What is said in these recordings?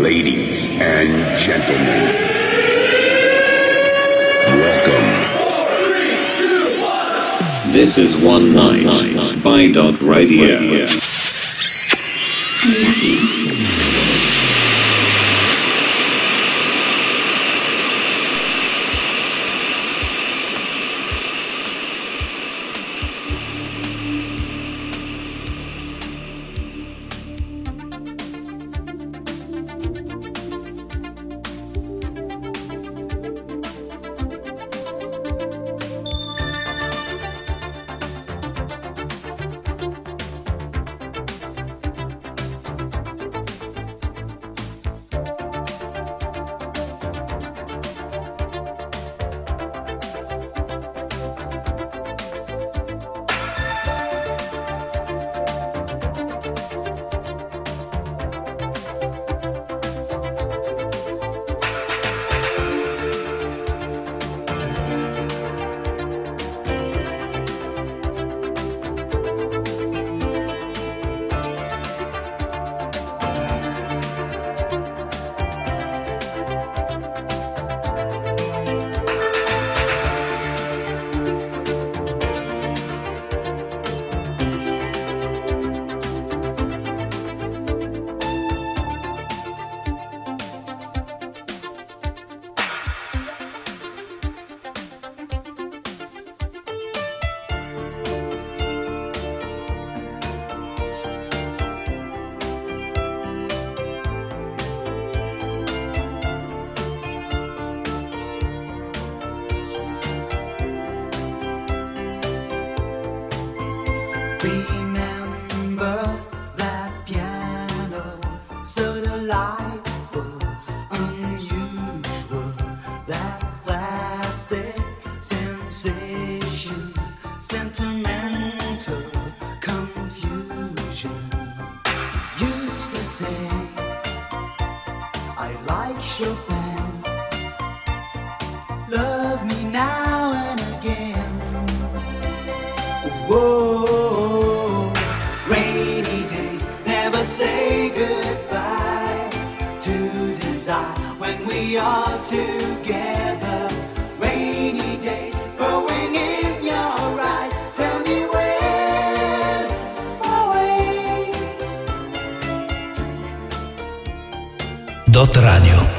Ladies and gentlemen, welcome. This is One Night by Dot Radio. Dot Radio.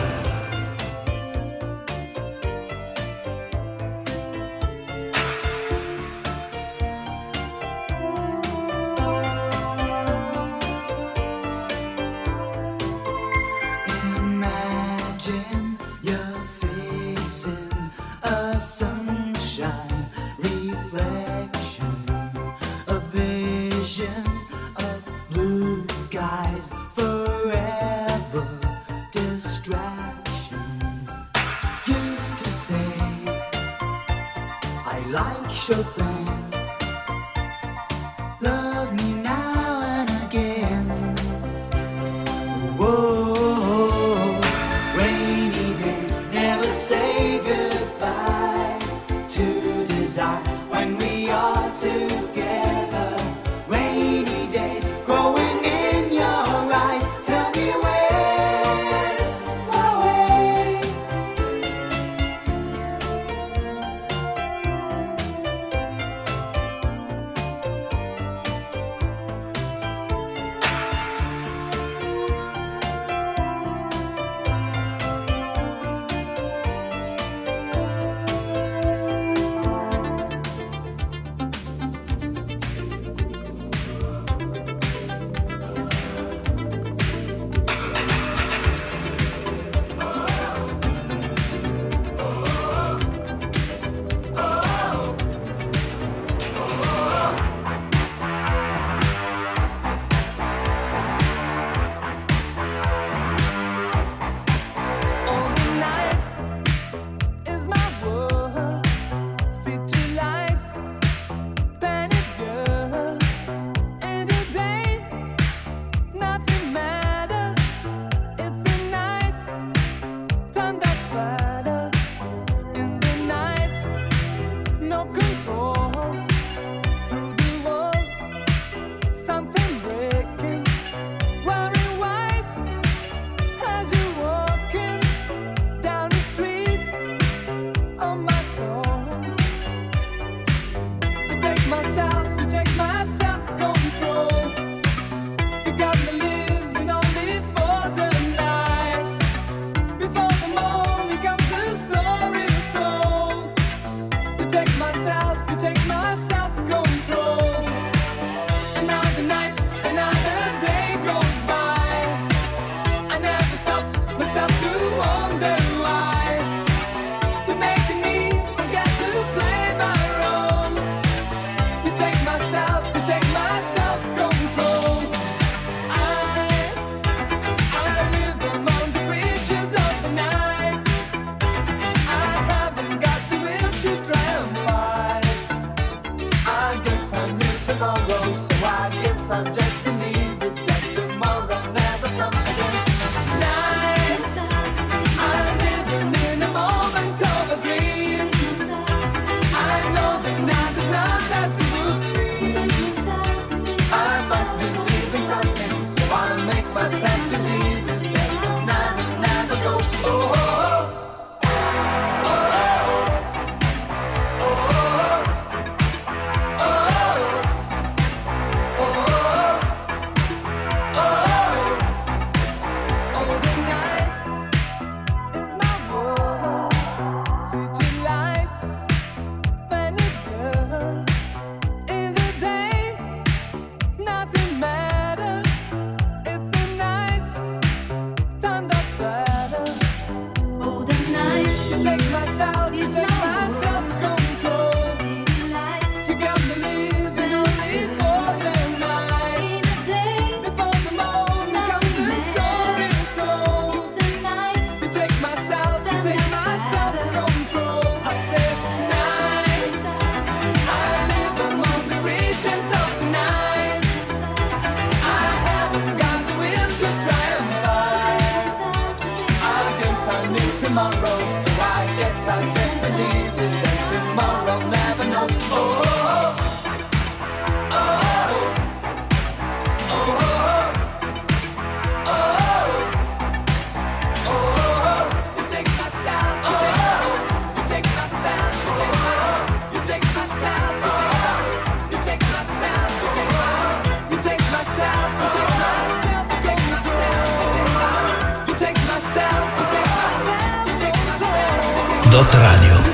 Dot Radio.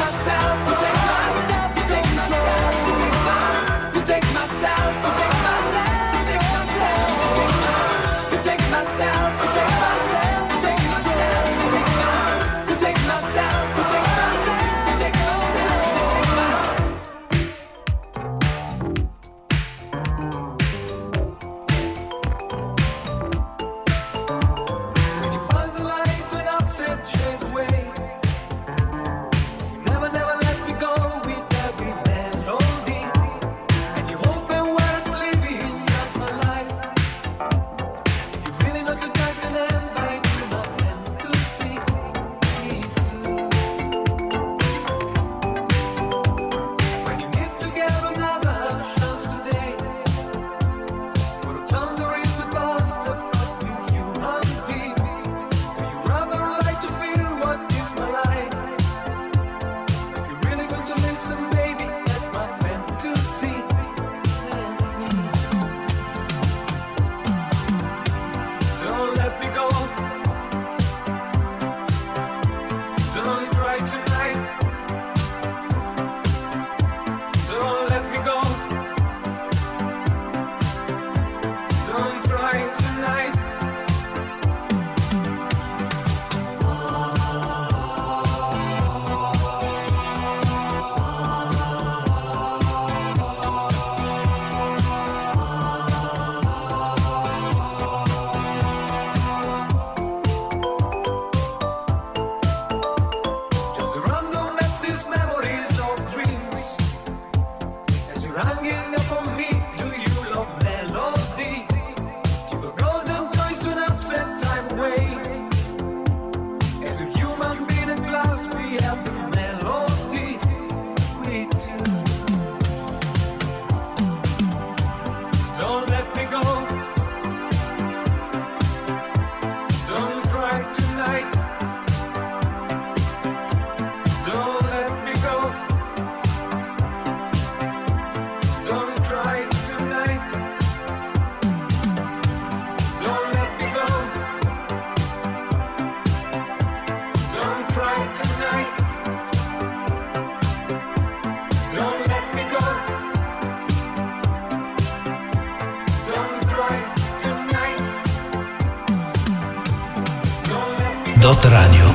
Dot Radio.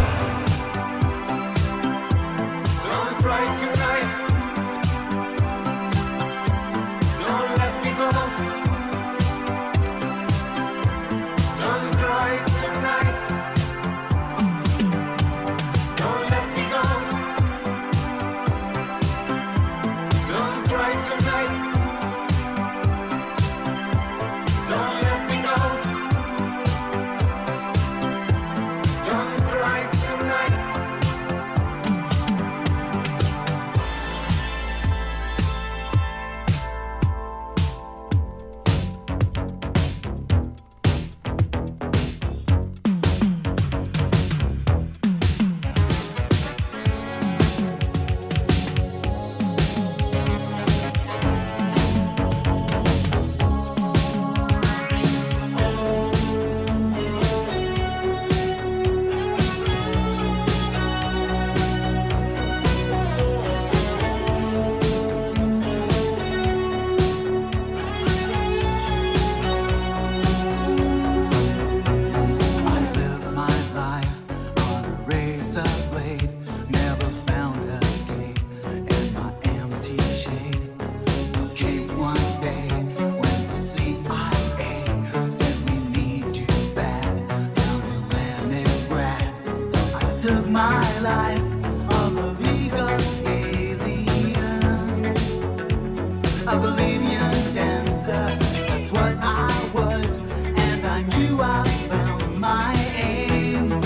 took my life of a legal alien, a Bolivian dancer. That's what I was, and I knew I found my aim.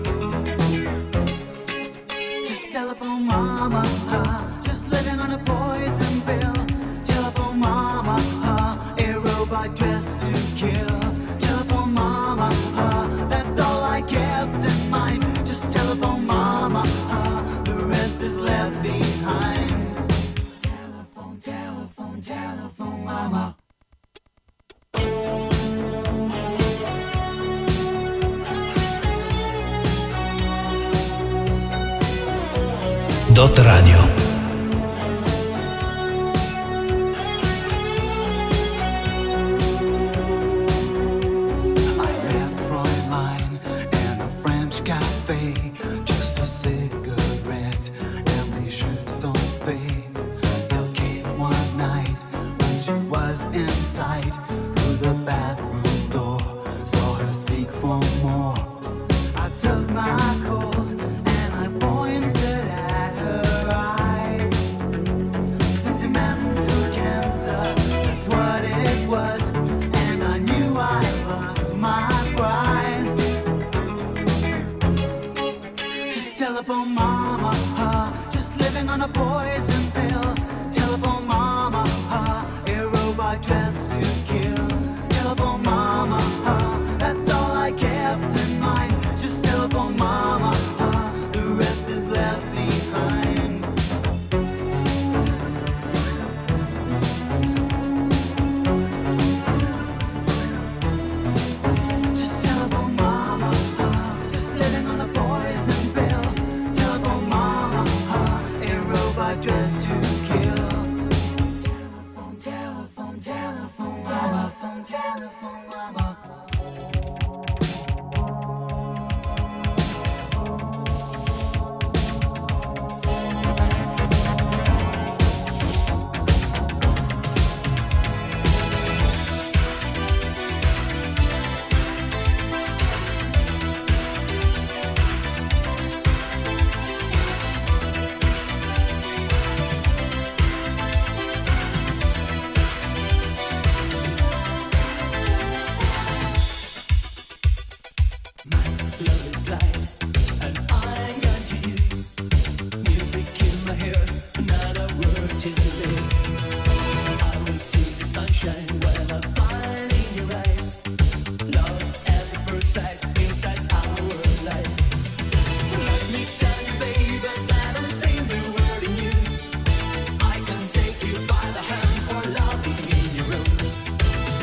Just telephone mama, just living on a poison pill. Telephone mama, a robot dressed to kill. Telephone mama, that's all I kept in mind. Just telephone mama, the rest is left behind. Telephone, telephone, telephone mama. Dot Radio. Telephone mama, just living on a poison pill. Telephone mama, a robot dressed to kill. Telephone mama, that's all I kept in mind. Just telephone mama, the rest is left behind. Just telephone mama, just living on a poison pill. Dressed to kill. Telephone, telephone, telephone mama. Telephone mama.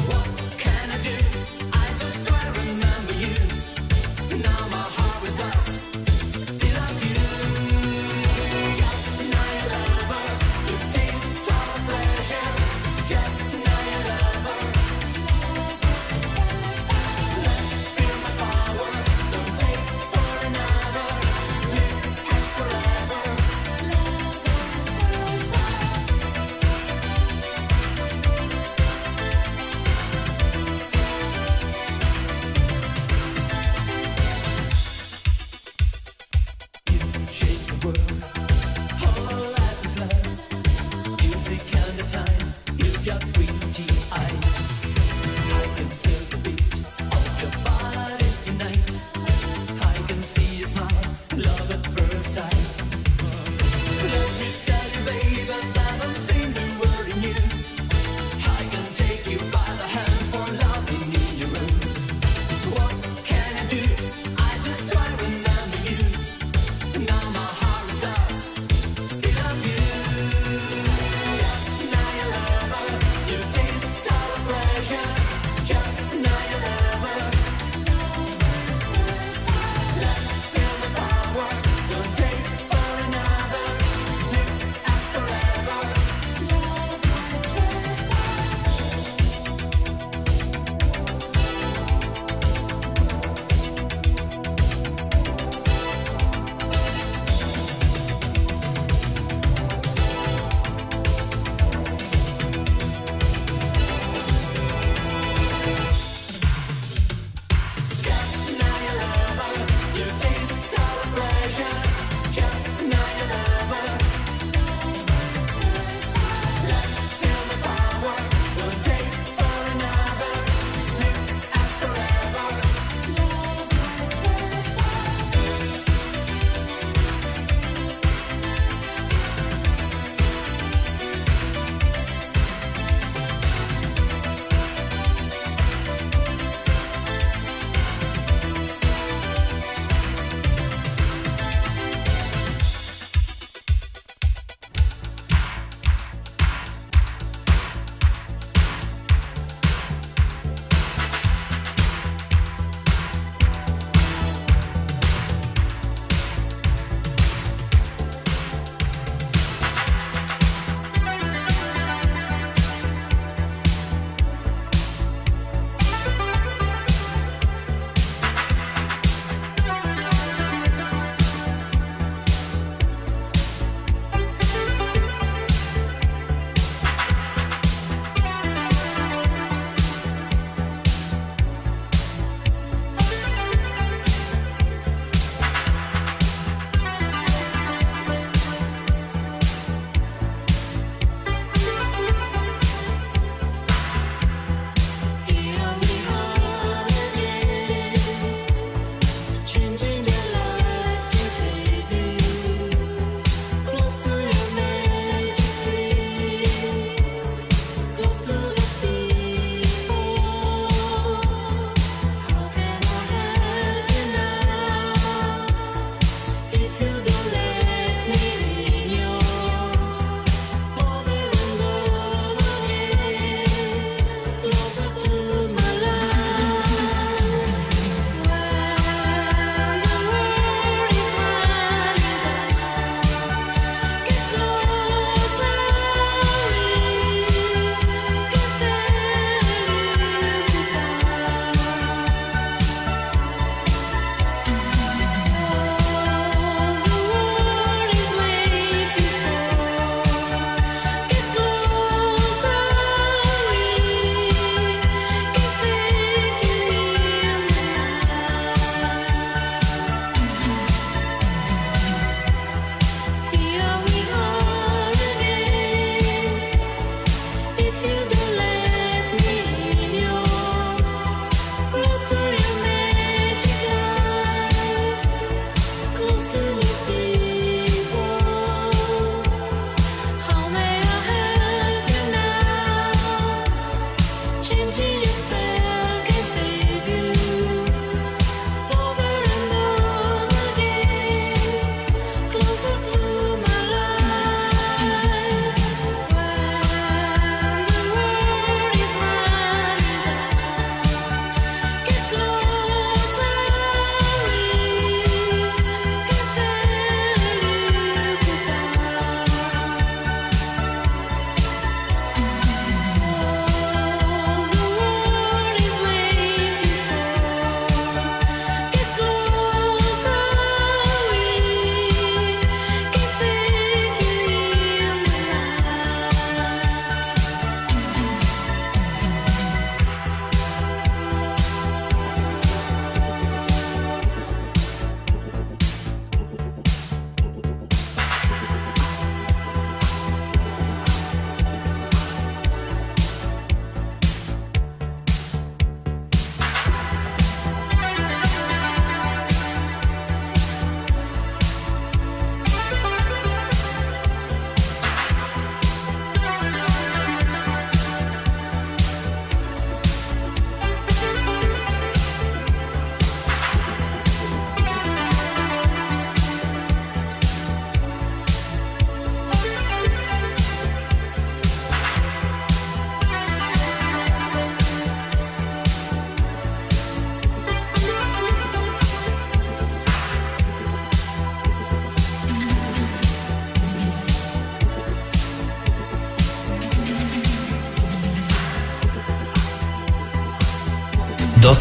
Now my heart is out.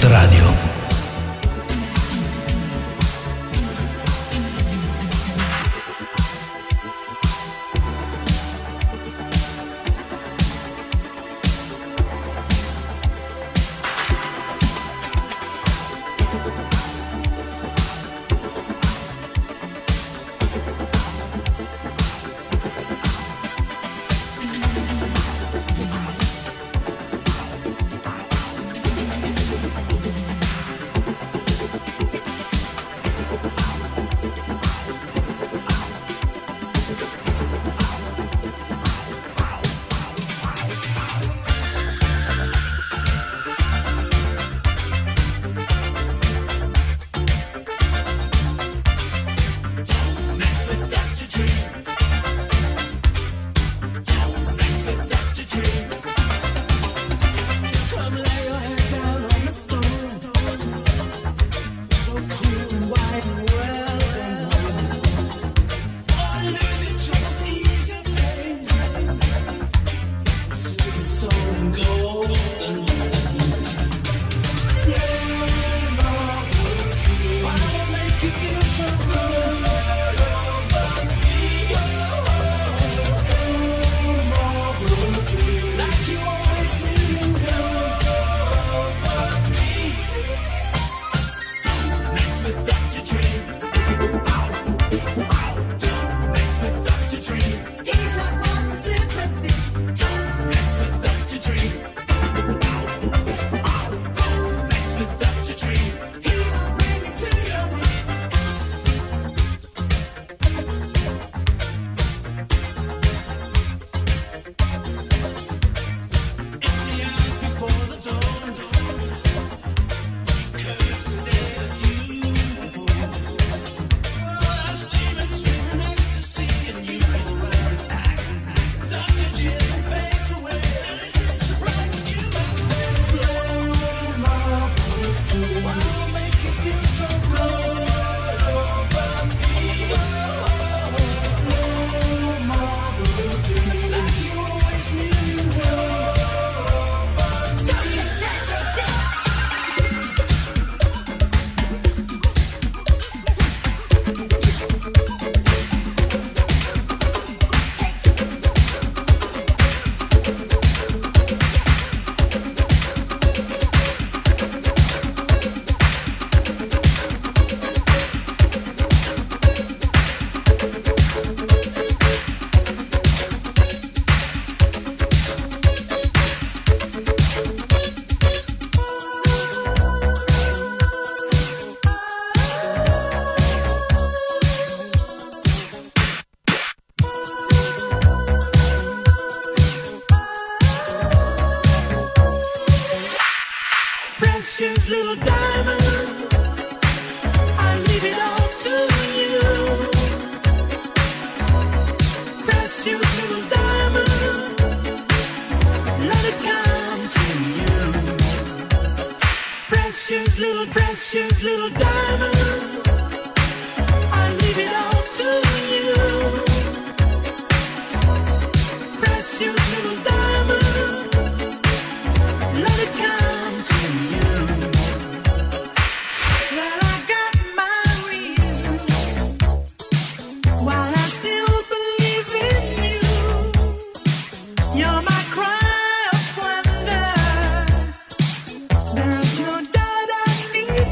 Radio. Precious little diamond, I leave it all to you. Precious little diamond, let it come to you. Precious little diamond, I leave it all to you. Precious little diamond, let it come to you. Well, I got my reasons why I still believe in you. You're my cry of wonder. There's no doubt I need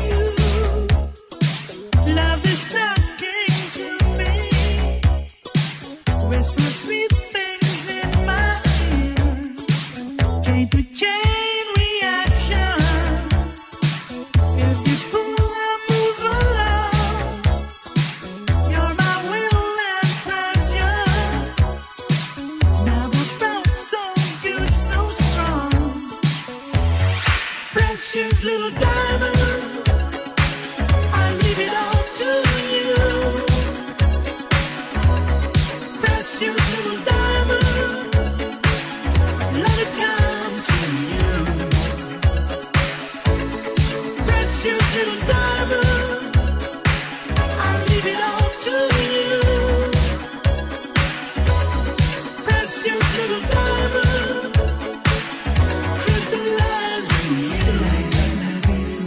you. Love is talking to me. Whisper sweet things in my ear. Chain to chain reaction. If you pull, I move along. You're my will and pleasure. Never felt so good, so strong. Precious little diamond, I leave it all to you. Precious little diamond, let it come to you. Precious little diamond, I leave it all to you. Precious little diamond, crystallize in you.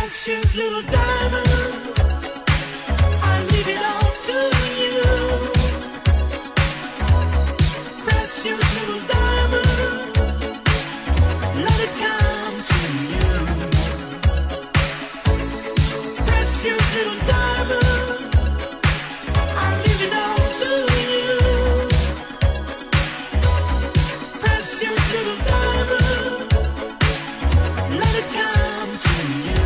precious little diamond, I leave it all to you. Precious little diamond, let it come to you. Precious little diamond, I leave it all to you. Precious little diamond, let it come to you.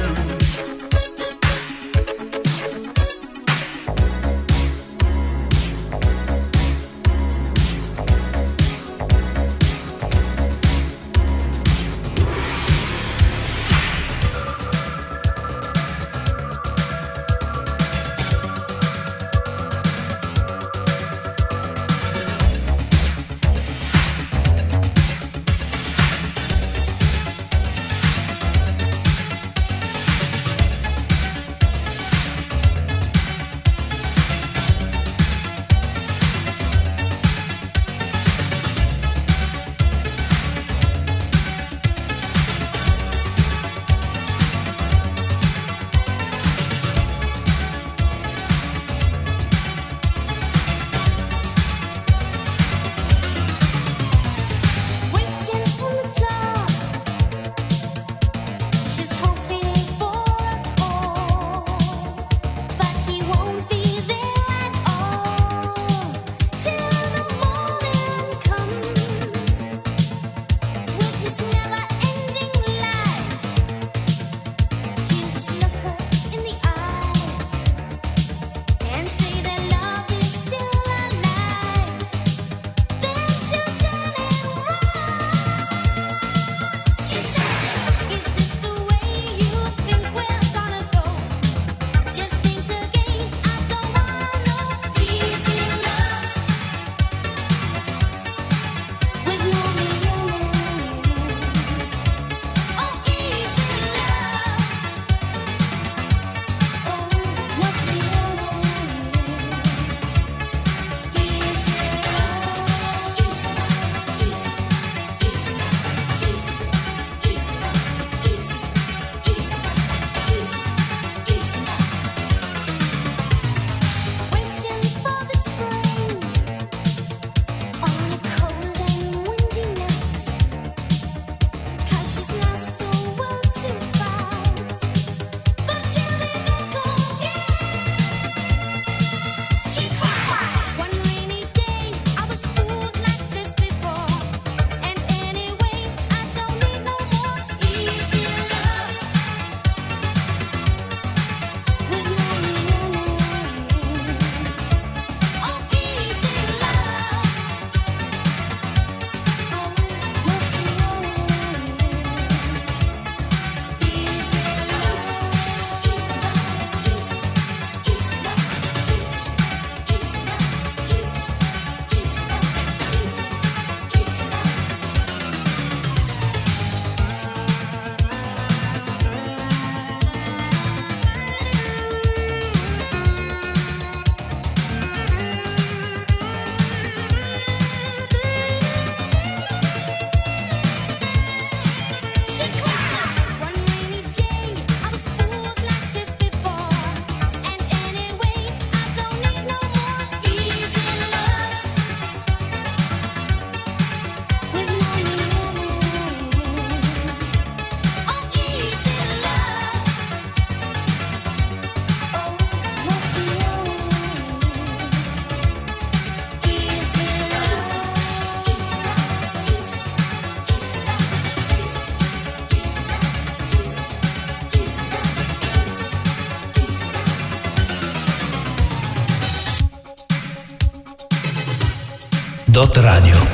Dot Radio.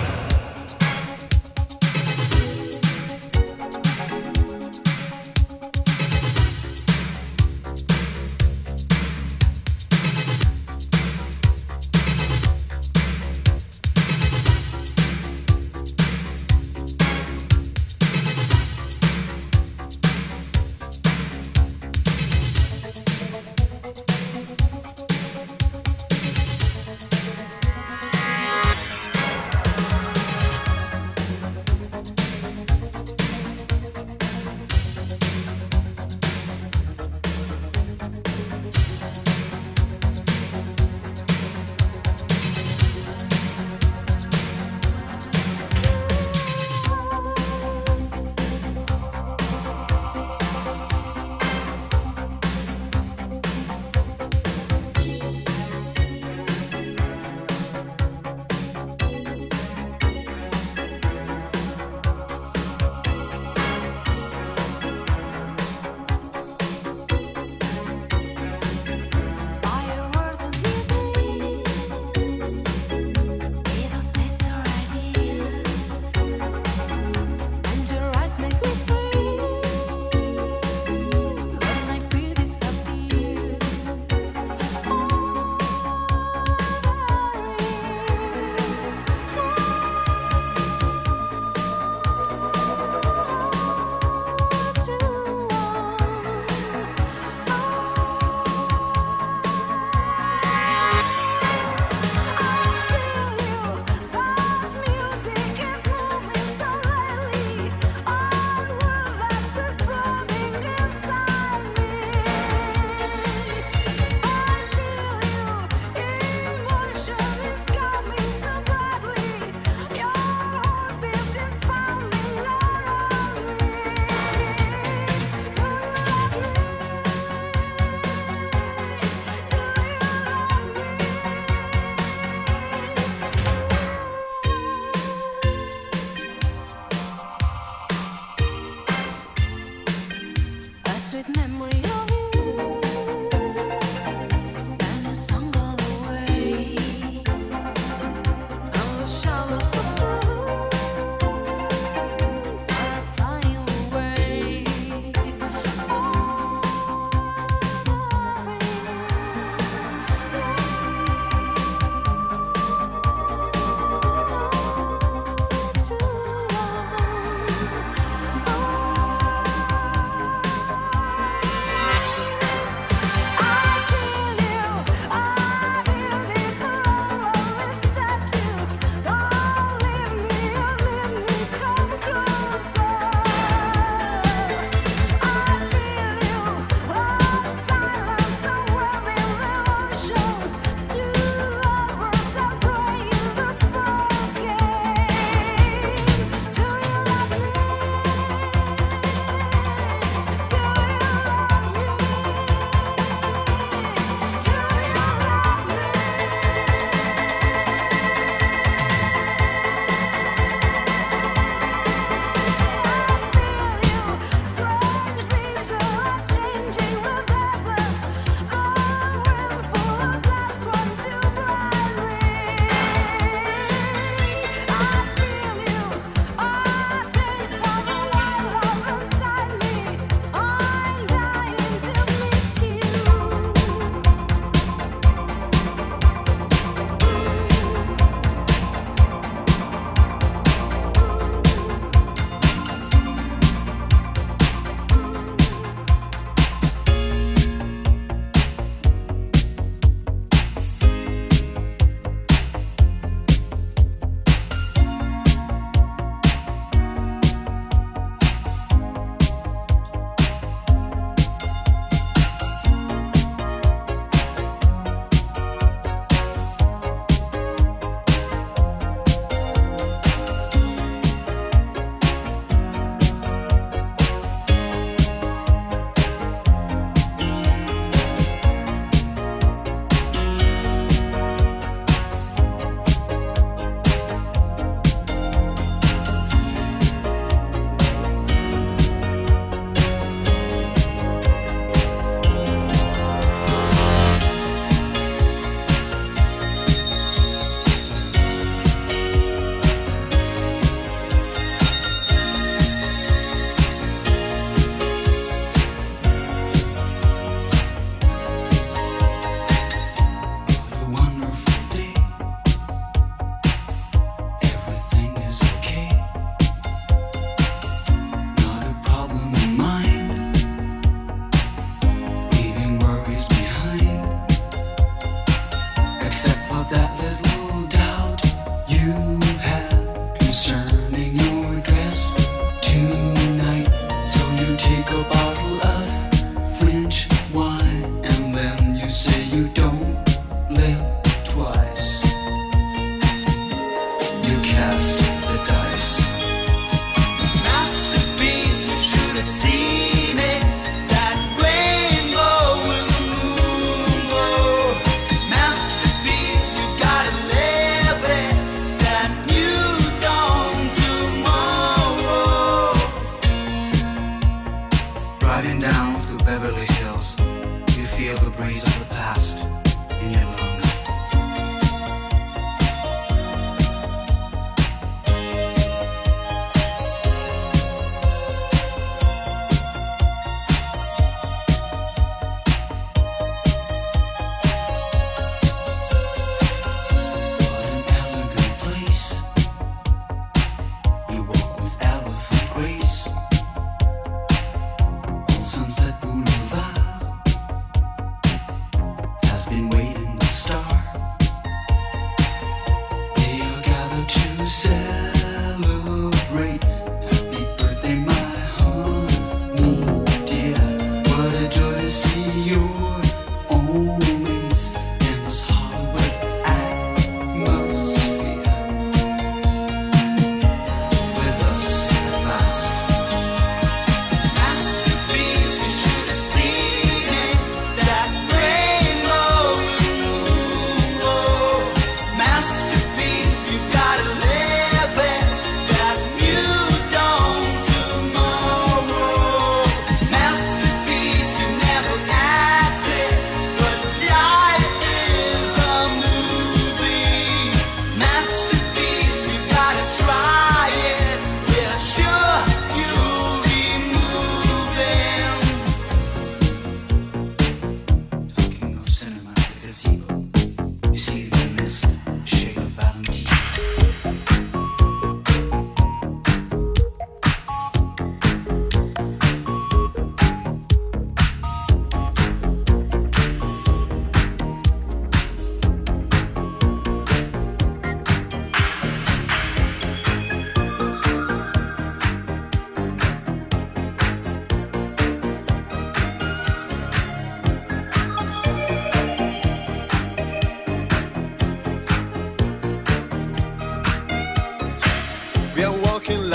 sweet memory of you and a song all the way and the shadows of truth are flying away. Sunset Boulevard has been waiting to start.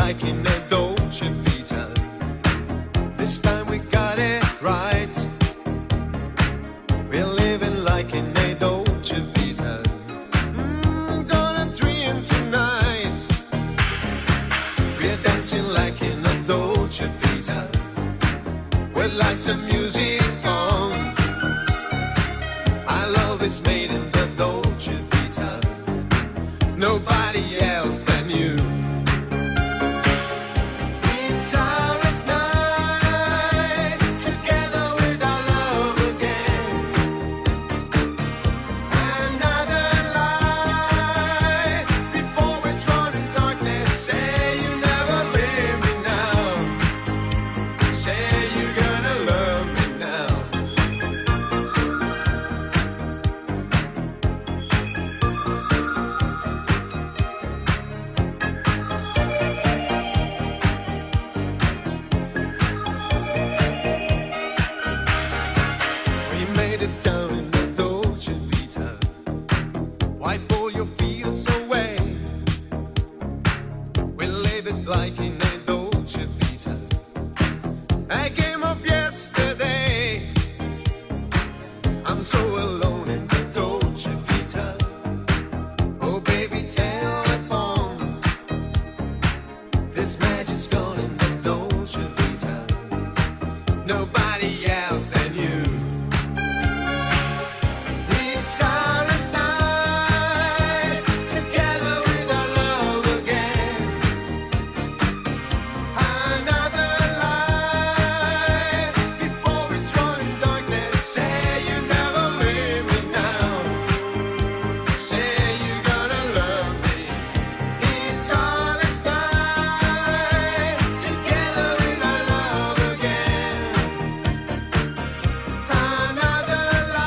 like in a Dolce Vita. This time we got it right. We're living like in a Dolce Vita. Gonna dream tonight. We're dancing like in a Dolce Vita. With lights and music on. Our love is made in the Dolce Vita. Nobody else than you. It's our last night together with our love again. Another life before we're drawn in darkness. Say you never leave me now. Say you're gonna love me now. We made it down in the Dolce Vita. Wipe all your fears away. We live it like in a Dolce Vita. A game of yesterday. I'm so alone in the Dolce Vita. Oh baby, telephone. This magic's gone in the Dolce Vita. Nobody else than you. It's our last night together with our love again. Another life before we join darkness. Say you never leave me now. Say you're gonna love me. It's our last night together with our love again. Another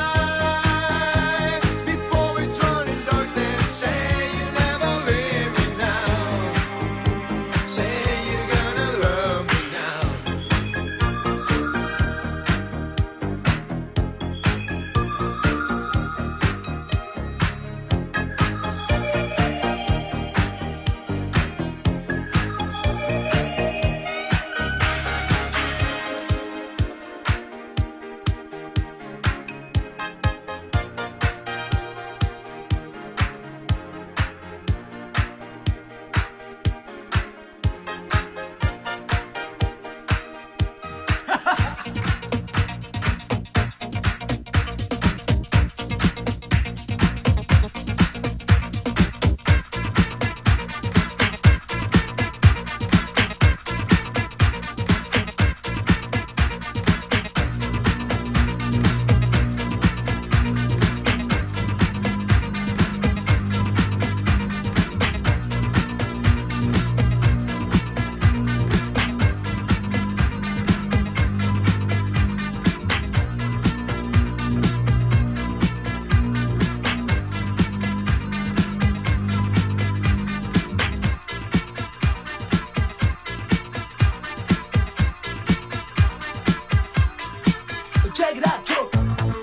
life before we drown in darkness. Say you never leave me now. Say you're gonna love me now. Check it out, Joe.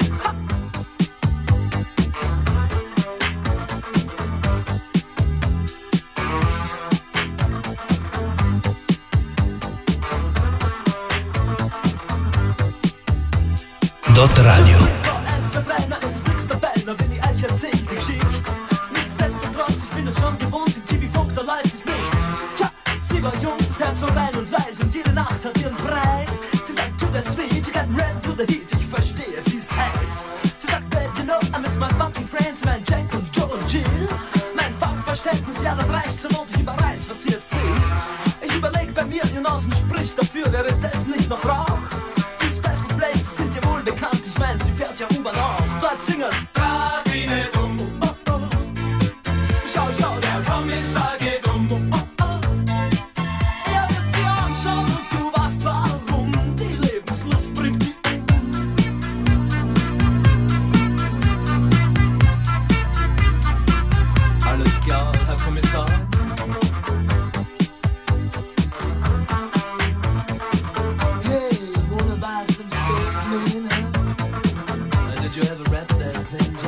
Dot Radio. Ernst verbrenner, es ist nichts dabei, nur wenn ich euch erzähl die Geschichte. Nichtsdestotrotz, ich bin es schon gewohnt, im TV-Funk, da läuft es nicht. Tja, sie war jung, das Herz so rein und weiß und jede Nacht hat ihren Preis. Sie sagt, to the sweet, you got rap to the heat, ich verstehe, sie ist heiß. Sie sagt, babe, you know, I miss my funky friends, mein Jack und Joe und Jill. Mein Funkverständnis, ja, das reicht zum und ich überreiß, was sie jetzt will. Ich überleg bei mir, ihr Nasen spricht dafür, wäre das nicht noch Rauch? Die Special Places sind ja wohl bekannt, ich mein, sie fährt ja U-Bahn auch. Dort singen's Radine dumm. Oh, oh. Schau, schau, der Kommissar geht um. Oh, oh. Er wird sie anschauen und du weißt warum. Die Lebenslust bringt die um. Alles klar, Herr Kommissar. Hey, wanna buy some steak, man? Did you ever rap that thing?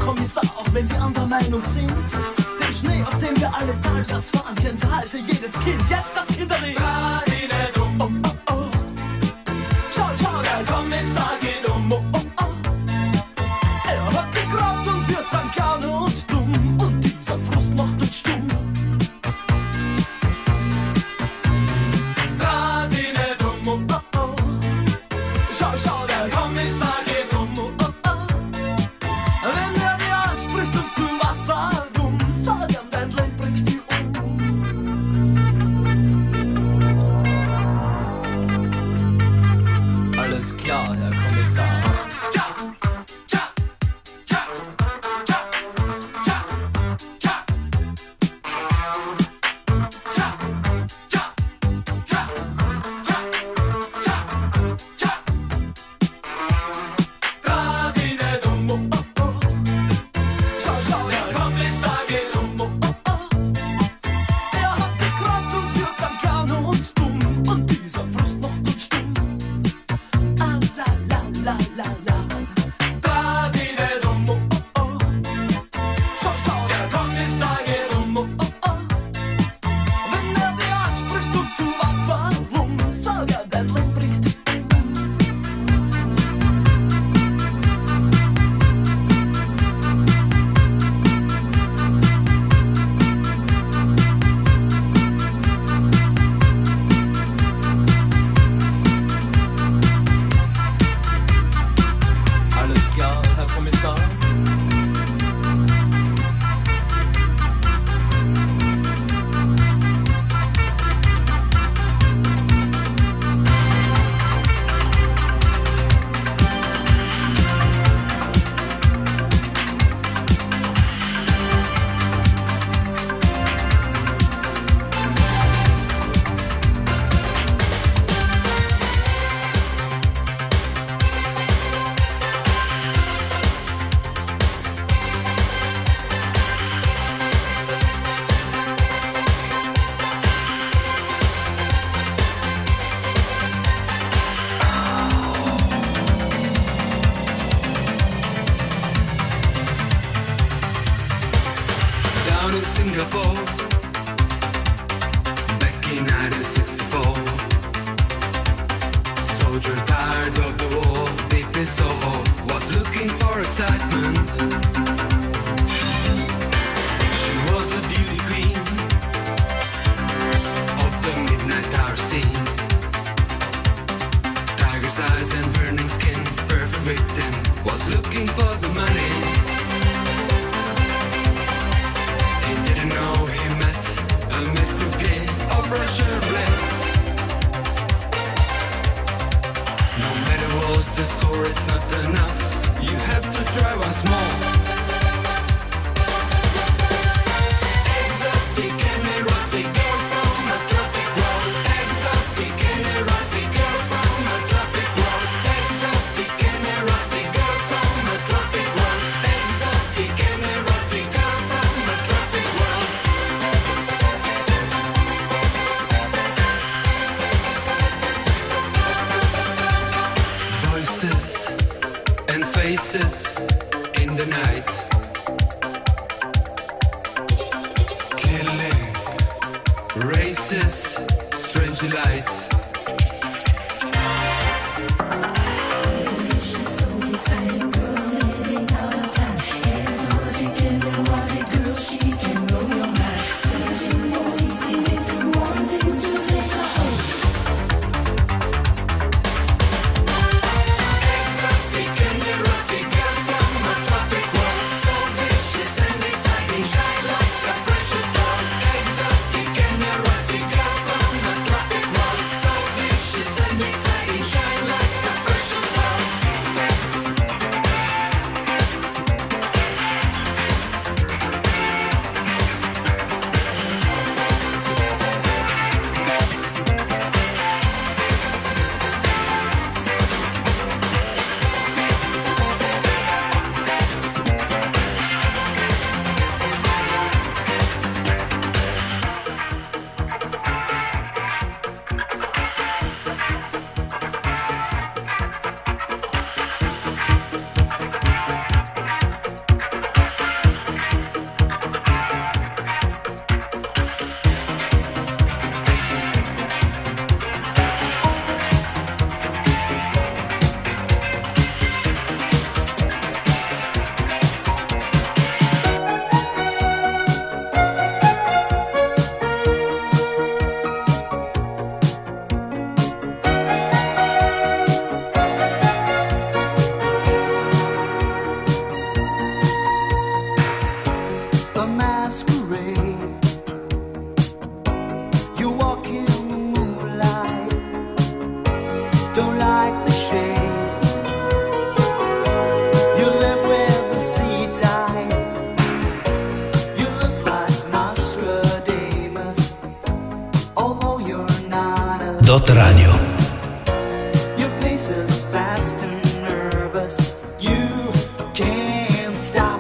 Kommissar, auch wenn sie anderer Meinung sind. Den Schnee, auf dem wir alle talwärts fahren, kennt heute jedes Kind. Jetzt das Kinderlied. Oh, oh, oh. Schau, schau, der Kommissar geht um. Oh, oh, oh. Er hat die Kraft und wir sind kaum und dumm. Und dieser Frust macht uns stumm. Draht ihn nicht um. Oh, oh, oh. Schau, schau, der Kommissar geht um. Oh, oh, oh. Wenn er dir anspricht und du weißt warum, sag ihm, dein Leben bringt dich um. Alles klar, Herr Kommissar. Dot Radio. Your pace is fast and nervous. You can't stop.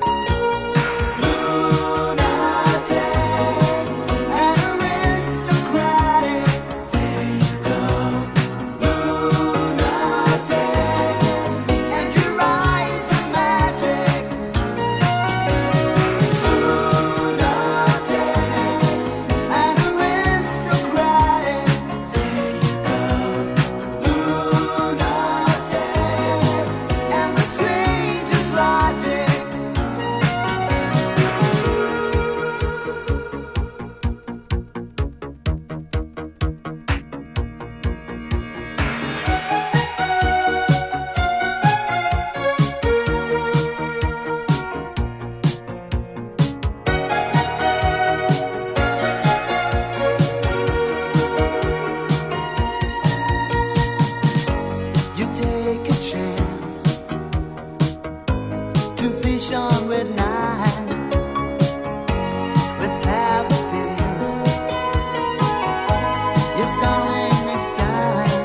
Lunatic and aristocratic. There you go. Lunatic and your eyes are magic. Lunatic and aristocratic. There you go. Lunatic and the strangest logic. You take a chance to fish on red nine. Let's have a dance. You're starring next time.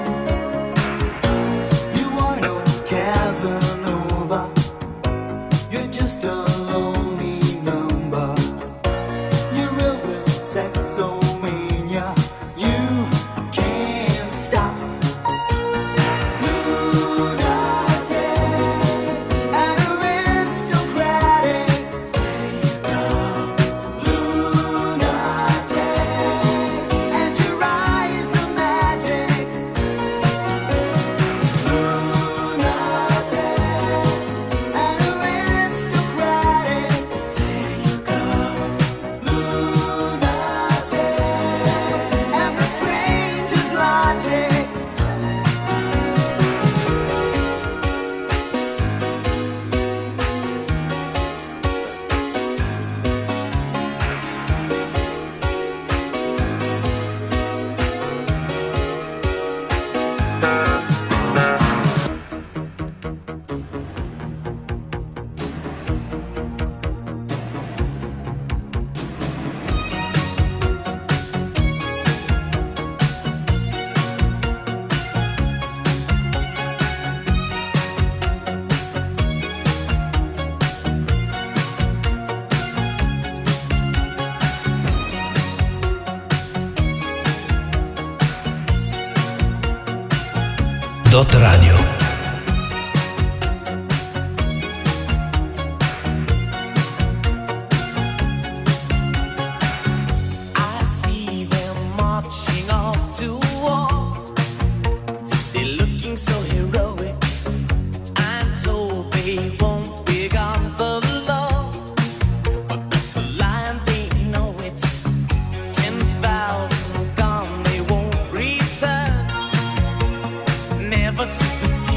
You are no Casanova. You're just a lonely number. You're real with sexomania. You can't stop. Lunatic and aristocratic. There you go. Lunatic and your eyes are magic. Lunatic and aristocratic. There you go. Lunatic and the strangest logic. Dot Radio. I see them marching off to war. They're looking so heroic. I'm told they won't be gone for long, but that's a lie and they know it. 10,000 gone, they won't return, never to pursue.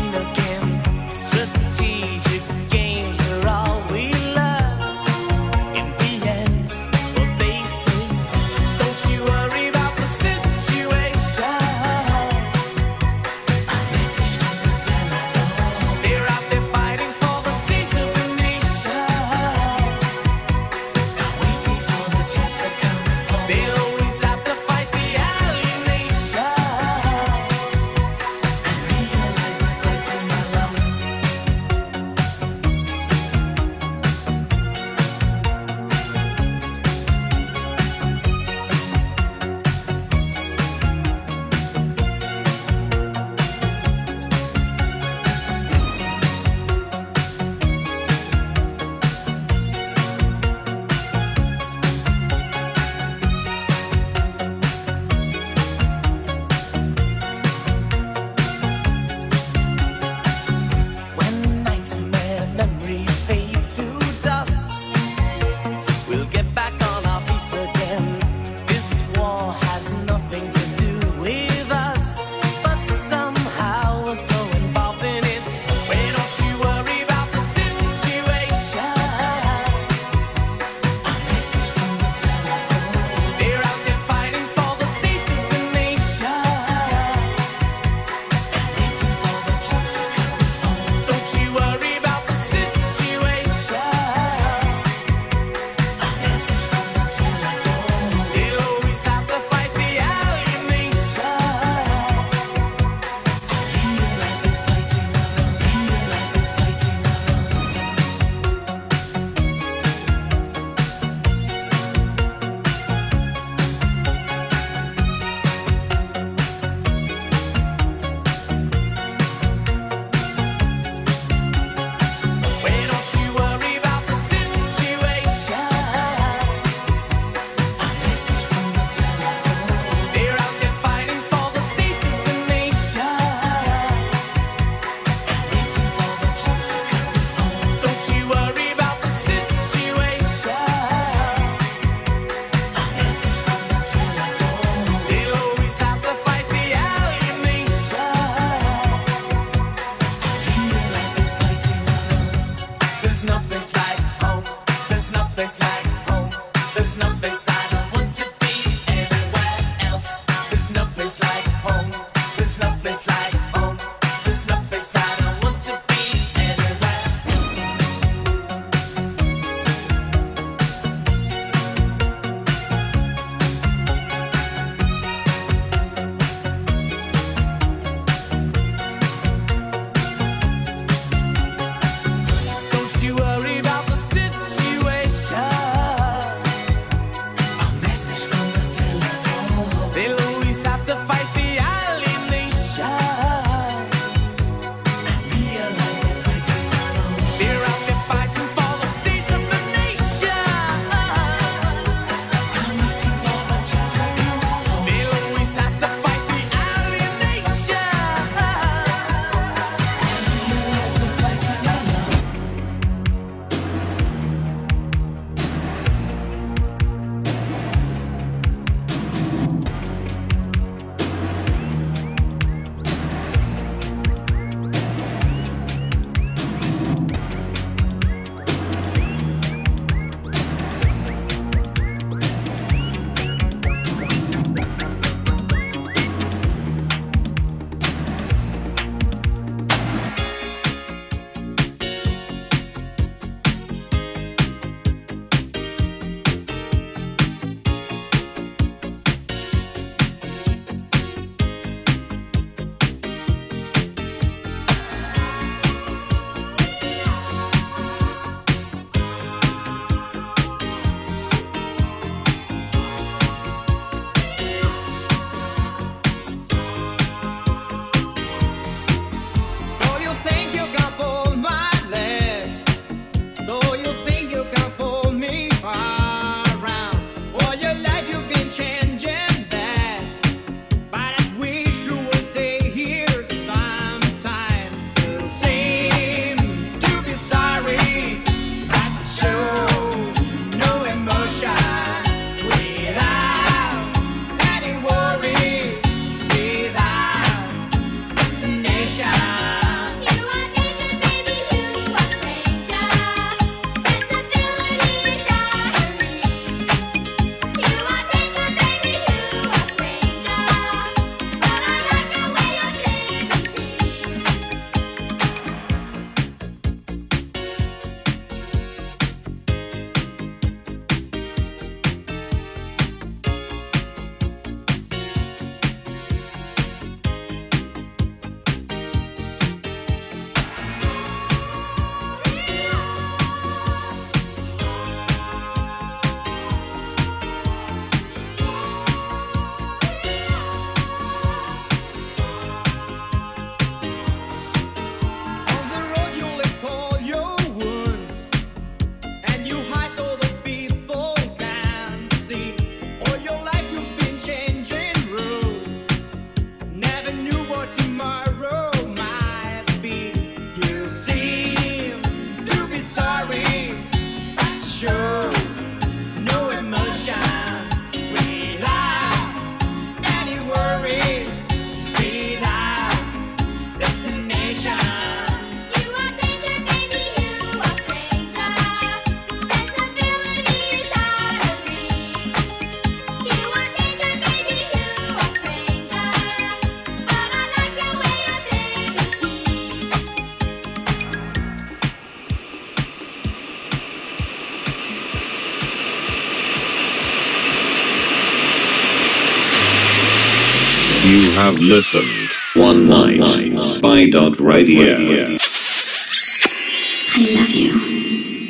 have listened. One Night by Dot Radio. I love you.